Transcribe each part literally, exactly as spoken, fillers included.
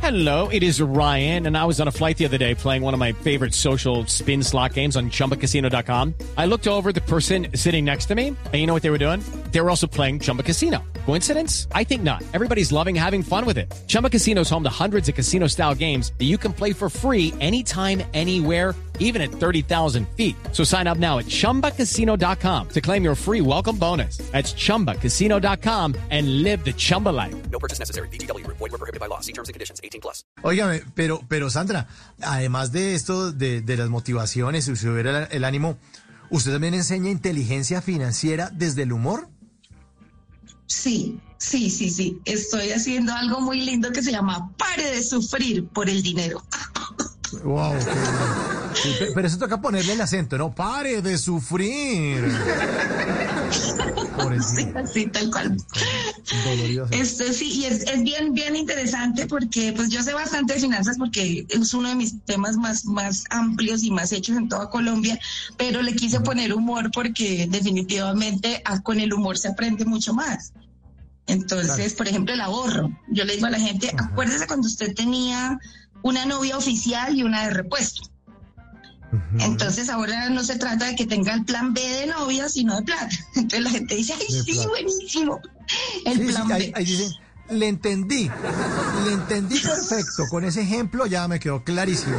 Hello, it is Ryan, and I was on a flight the other day playing one of my favorite social spin slot games on Chumba Casino dot com. I looked over at the person sitting next to me, and you know what they were doing? They were also playing Chumba Casino. Coincidence? I think not. Everybody's loving having fun with it. Chumba Casino is home to hundreds of casino-style games that you can play for free anytime, anywhere, even at thirty thousand feet. So sign up now at Chumba Casino dot com to claim your free welcome bonus. That's Chumba Casino dot com and live the Chumba life. No purchase necessary. V G W. Void were prohibited by law. See terms and conditions. eighteen plus. Óigame, pero, pero Sandra, además de esto, de, de las motivaciones y subir el, el ánimo, ¿usted también enseña inteligencia financiera desde el humor? Sí, sí, sí, sí. Estoy haciendo algo muy lindo que se llama Pare de sufrir por el dinero. Wow, qué bueno. Sí, pero eso toca ponerle el acento, ¿no? Pare de sufrir. Por el sí, así, tal cual. Doloroso. Este, sí, y es, es bien, bien interesante porque pues yo sé bastante de finanzas porque es uno de mis temas más, más amplios y más hechos en toda Colombia, pero le quise poner humor porque definitivamente a, con el humor se aprende mucho más. Entonces, claro. Por ejemplo, el ahorro. Yo le digo a la gente, ajá, acuérdese cuando usted tenía una novia oficial y una de repuesto. Uh-huh. Entonces ahora no se trata de que tenga el plan B de novia, sino de plata. Entonces la gente dice, ay, de sí, plata. Buenísimo. El sí, plan sí, B. Ahí, ahí dicen, le entendí, le entendí perfecto. Con ese ejemplo ya me quedó clarísimo.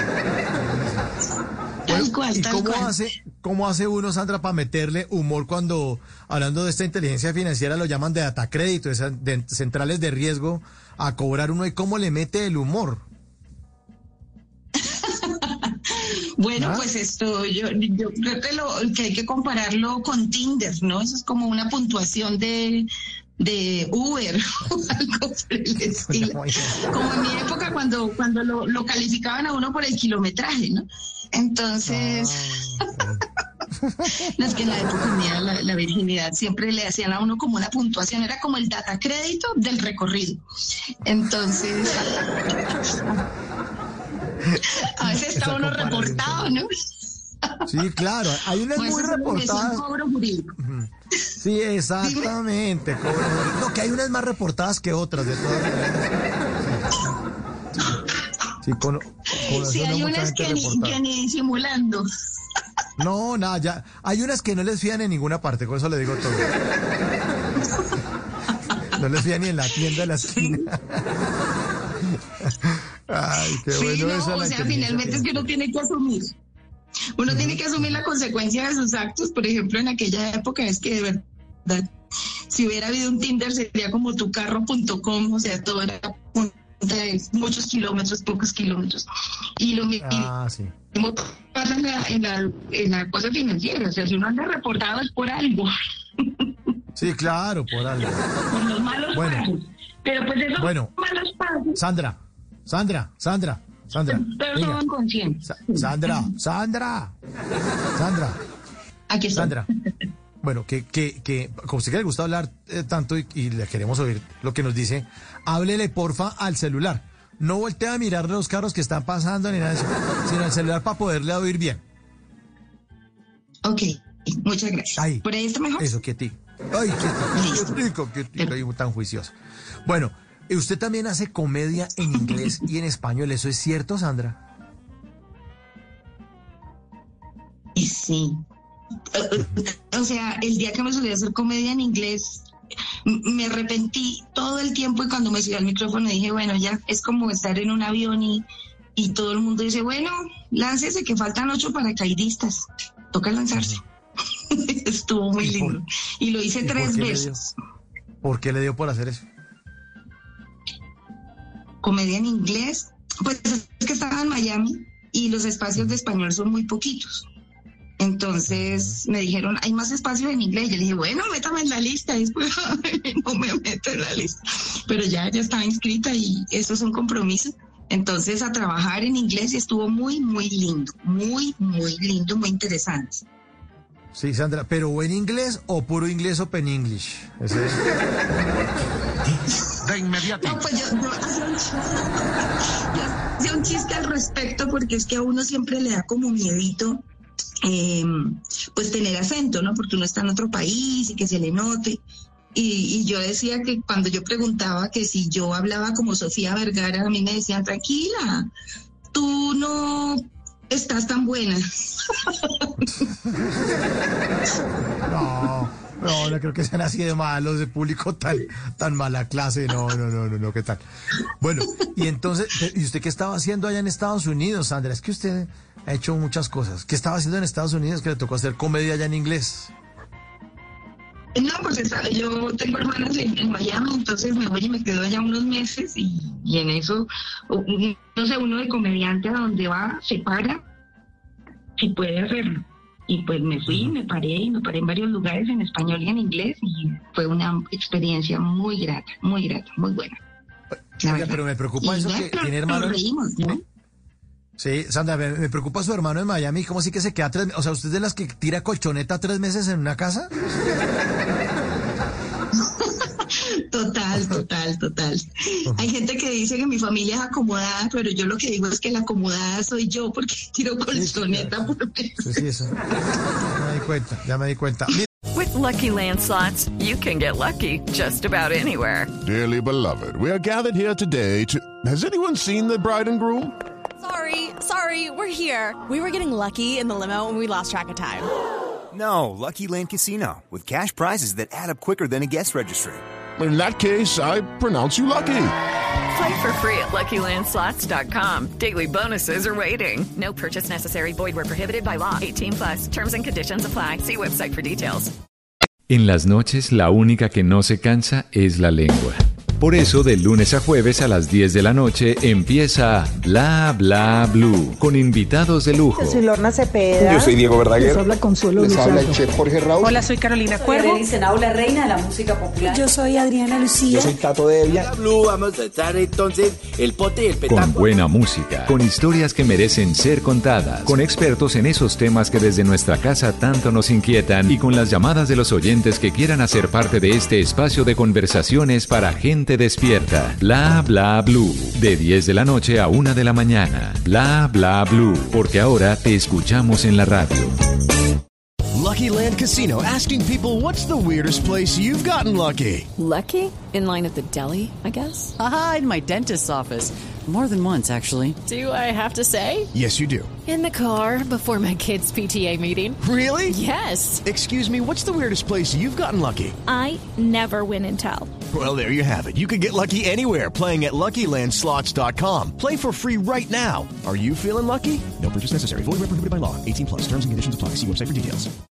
Tal bueno, cual, ¿y tal cómo cual. hace, cómo hace uno, Sandra, para meterle humor cuando, hablando de esta inteligencia financiera, lo llaman de data crédito, de, de centrales de riesgo, a cobrar uno? ¿Y cómo le mete el humor? Bueno, ¿Ah? Pues esto, yo, yo creo que, lo, que hay que compararlo con Tinder, ¿no? Eso es como una puntuación de, de Uber o algo por el estilo. Como en mi época cuando, cuando lo, lo calificaban a uno por el kilometraje, ¿no? Entonces, Ah, no, es que en la época mía la, la virginidad siempre le hacían a uno como una puntuación, era como el data crédito del recorrido. Entonces... A veces está uno reportado, ¿no? Sí, claro, hay unas pues muy reportadas. Cobro jurídico. Sí, exactamente. Cobro jurídico. No, que hay unas más reportadas que otras, de todas maneras. Sí, sí, con, con sí hay no unas que ni, que ni disimulando. No, nada, ya. Hay unas que no les fían en ninguna parte, con eso le digo todo. No les fían ni en la tienda de la esquina. Ay, qué sí, bueno. no, esa o sea, finalmente es que uno tiene que asumir. Uno uh-huh. tiene que asumir la consecuencia de sus actos. Por ejemplo, en aquella época es que de verdad, si hubiera habido un Tinder sería como tucarro punto com, o sea, todo era de muchos kilómetros, pocos kilómetros. Y lo mismo ah, sí. pasa en la, en, la, en la cosa financiera. O sea, si uno anda reportado es por algo. Sí, claro, por algo. Por los malos bueno. pasos. Pero pues esos bueno. malos pasos. Sandra, Sandra, Sandra, Sandra. Pero son conscientes. Sa- Sandra, Sandra, Sandra. Aquí está. Sandra. Bueno, que, que, que, como usted que le gusta hablar eh, tanto y, y le queremos oír lo que nos dice, háblele porfa al celular. No voltee a mirar los carros que están pasando ni nada de eso, sino al celular para poderle oír bien. Ok, muchas gracias. Ahí. ¿Por ahí está mejor? Eso, quietico. Ay, quietico, quietico, quietico, ahí tan juicioso. Bueno, usted también hace comedia en inglés y en español, ¿eso es cierto, Sandra? Y sí. O sea, el día que me subí a hacer comedia en inglés, me arrepentí todo el tiempo y cuando me subí al micrófono dije, bueno, ya es como estar en un avión y, y todo el mundo dice, bueno, láncese que faltan ocho paracaidistas. Toca lanzarse. Estuvo muy ¿Y por, lindo. Y lo hice ¿y tres por veces. ¿Por qué le dio por hacer eso? Comedia en inglés, pues es que estaba en Miami y los espacios de español son muy poquitos. Entonces me dijeron, hay más espacios en inglés. Yo le dije, bueno, métame en la lista. Y después no me meto en la lista. Pero ya, ya estaba inscrita y eso es un compromiso. Entonces a trabajar en inglés y estuvo muy, muy lindo. Muy, muy lindo, muy interesante. Sí, Sandra, ¿pero buen inglés o puro inglés open English? ¿Ese es? De inmediato. No, pues yo, yo hacía un chiste, yo hacía un chiste al respecto porque es que a uno siempre le da como miedito eh, pues tener acento, ¿no? Porque uno está en otro país y que se le note. Y, y yo decía que cuando yo preguntaba que si yo hablaba como Sofía Vergara, a mí me decían, tranquila, tú no estás tan buena. No, no, no creo que sean así de malos, de público tan, tan mala clase. No, no, no, no, no, ¿qué tal? Bueno, y entonces, ¿y usted qué estaba haciendo allá en Estados Unidos, Sandra? Es que usted ha hecho muchas cosas. ¿Qué estaba haciendo en Estados Unidos que le tocó hacer comedia allá en inglés? No, pues está, yo tengo hermanas en, en Miami, entonces me voy y me quedo allá unos meses y, y en eso, un- no sé, uno de comediante a donde va, se para, si puede hacerlo. Y pues me fui, me paré y me paré en varios lugares en español y en inglés y fue una experiencia muy grata, muy grata, muy buena. la Oiga, verdad. pero me preocupa Y eso ya, que pero tiene nos hermanos. reímos, ¿no? Sí, Sandra, me, me preocupa su hermano en Miami. ¿Cómo así que se queda tres meses? O sea, ¿usted es de las que tira colchoneta tres meses en una casa? Total, total, total. Hay gente que dice que mi familia es acomodada, pero yo lo que digo es que la acomodada soy yo porque tiro colchoneta por mes. Sí, sí, eso. Ya me di cuenta, ya me di cuenta. Mira, With Lucky Land Slots, you can get lucky just about anywhere. Dearly beloved, we are gathered here today to... Has anyone seen the bride and groom? Sorry, sorry, we're here. We were getting lucky in the limo and we lost track of time. No, Lucky Land Casino, with cash prizes that add up quicker than a guest registry. In that case, I pronounce you lucky. Play for free at Lucky Land Slots dot com. Daily bonuses are waiting. No purchase necessary. Void where prohibited by law. eighteen plus. Terms and conditions apply. See website for details. En las noches, la única que no se cansa es la lengua. Por eso, de lunes a jueves a las diez de la noche empieza Bla Bla Blue, con invitados de lujo. Yo soy Lorna Cepeda. Yo soy Diego Verdaguer. Les habla Consuelo Les Luzardo. habla el chef Jorge Raúl. Hola, soy Carolina Cuervo. la reina de la música popular. Yo soy Adriana Lucía. Yo soy Tato Devia. Blue, vamos a echar entonces el pote y el Con petáculo. buena música, con historias que merecen ser contadas, con expertos en esos temas que desde nuestra casa tanto nos inquietan y con las llamadas de los oyentes que quieran hacer parte de este espacio de conversaciones para gente despierta. Bla Bla Blue, de diez de la noche a una de la mañana. Bla Bla Blue, porque ahora te escuchamos en la radio. Lucky Land Casino, asking people, what's the weirdest place you've gotten lucky? Lucky? In line at the deli, I guess? Aha, in my dentist's office. More than once, actually. Do I have to say? Yes, you do. In the car before my kids' P T A meeting. Really? Yes. Excuse me, what's the weirdest place you've gotten lucky? I never win and tell. Well, there you have it. You can get lucky anywhere, playing at Lucky Land Slots dot com. Play for free right now. Are you feeling lucky? No purchase necessary. Void where prohibited by law. eighteen plus. Terms and conditions apply. See website for details.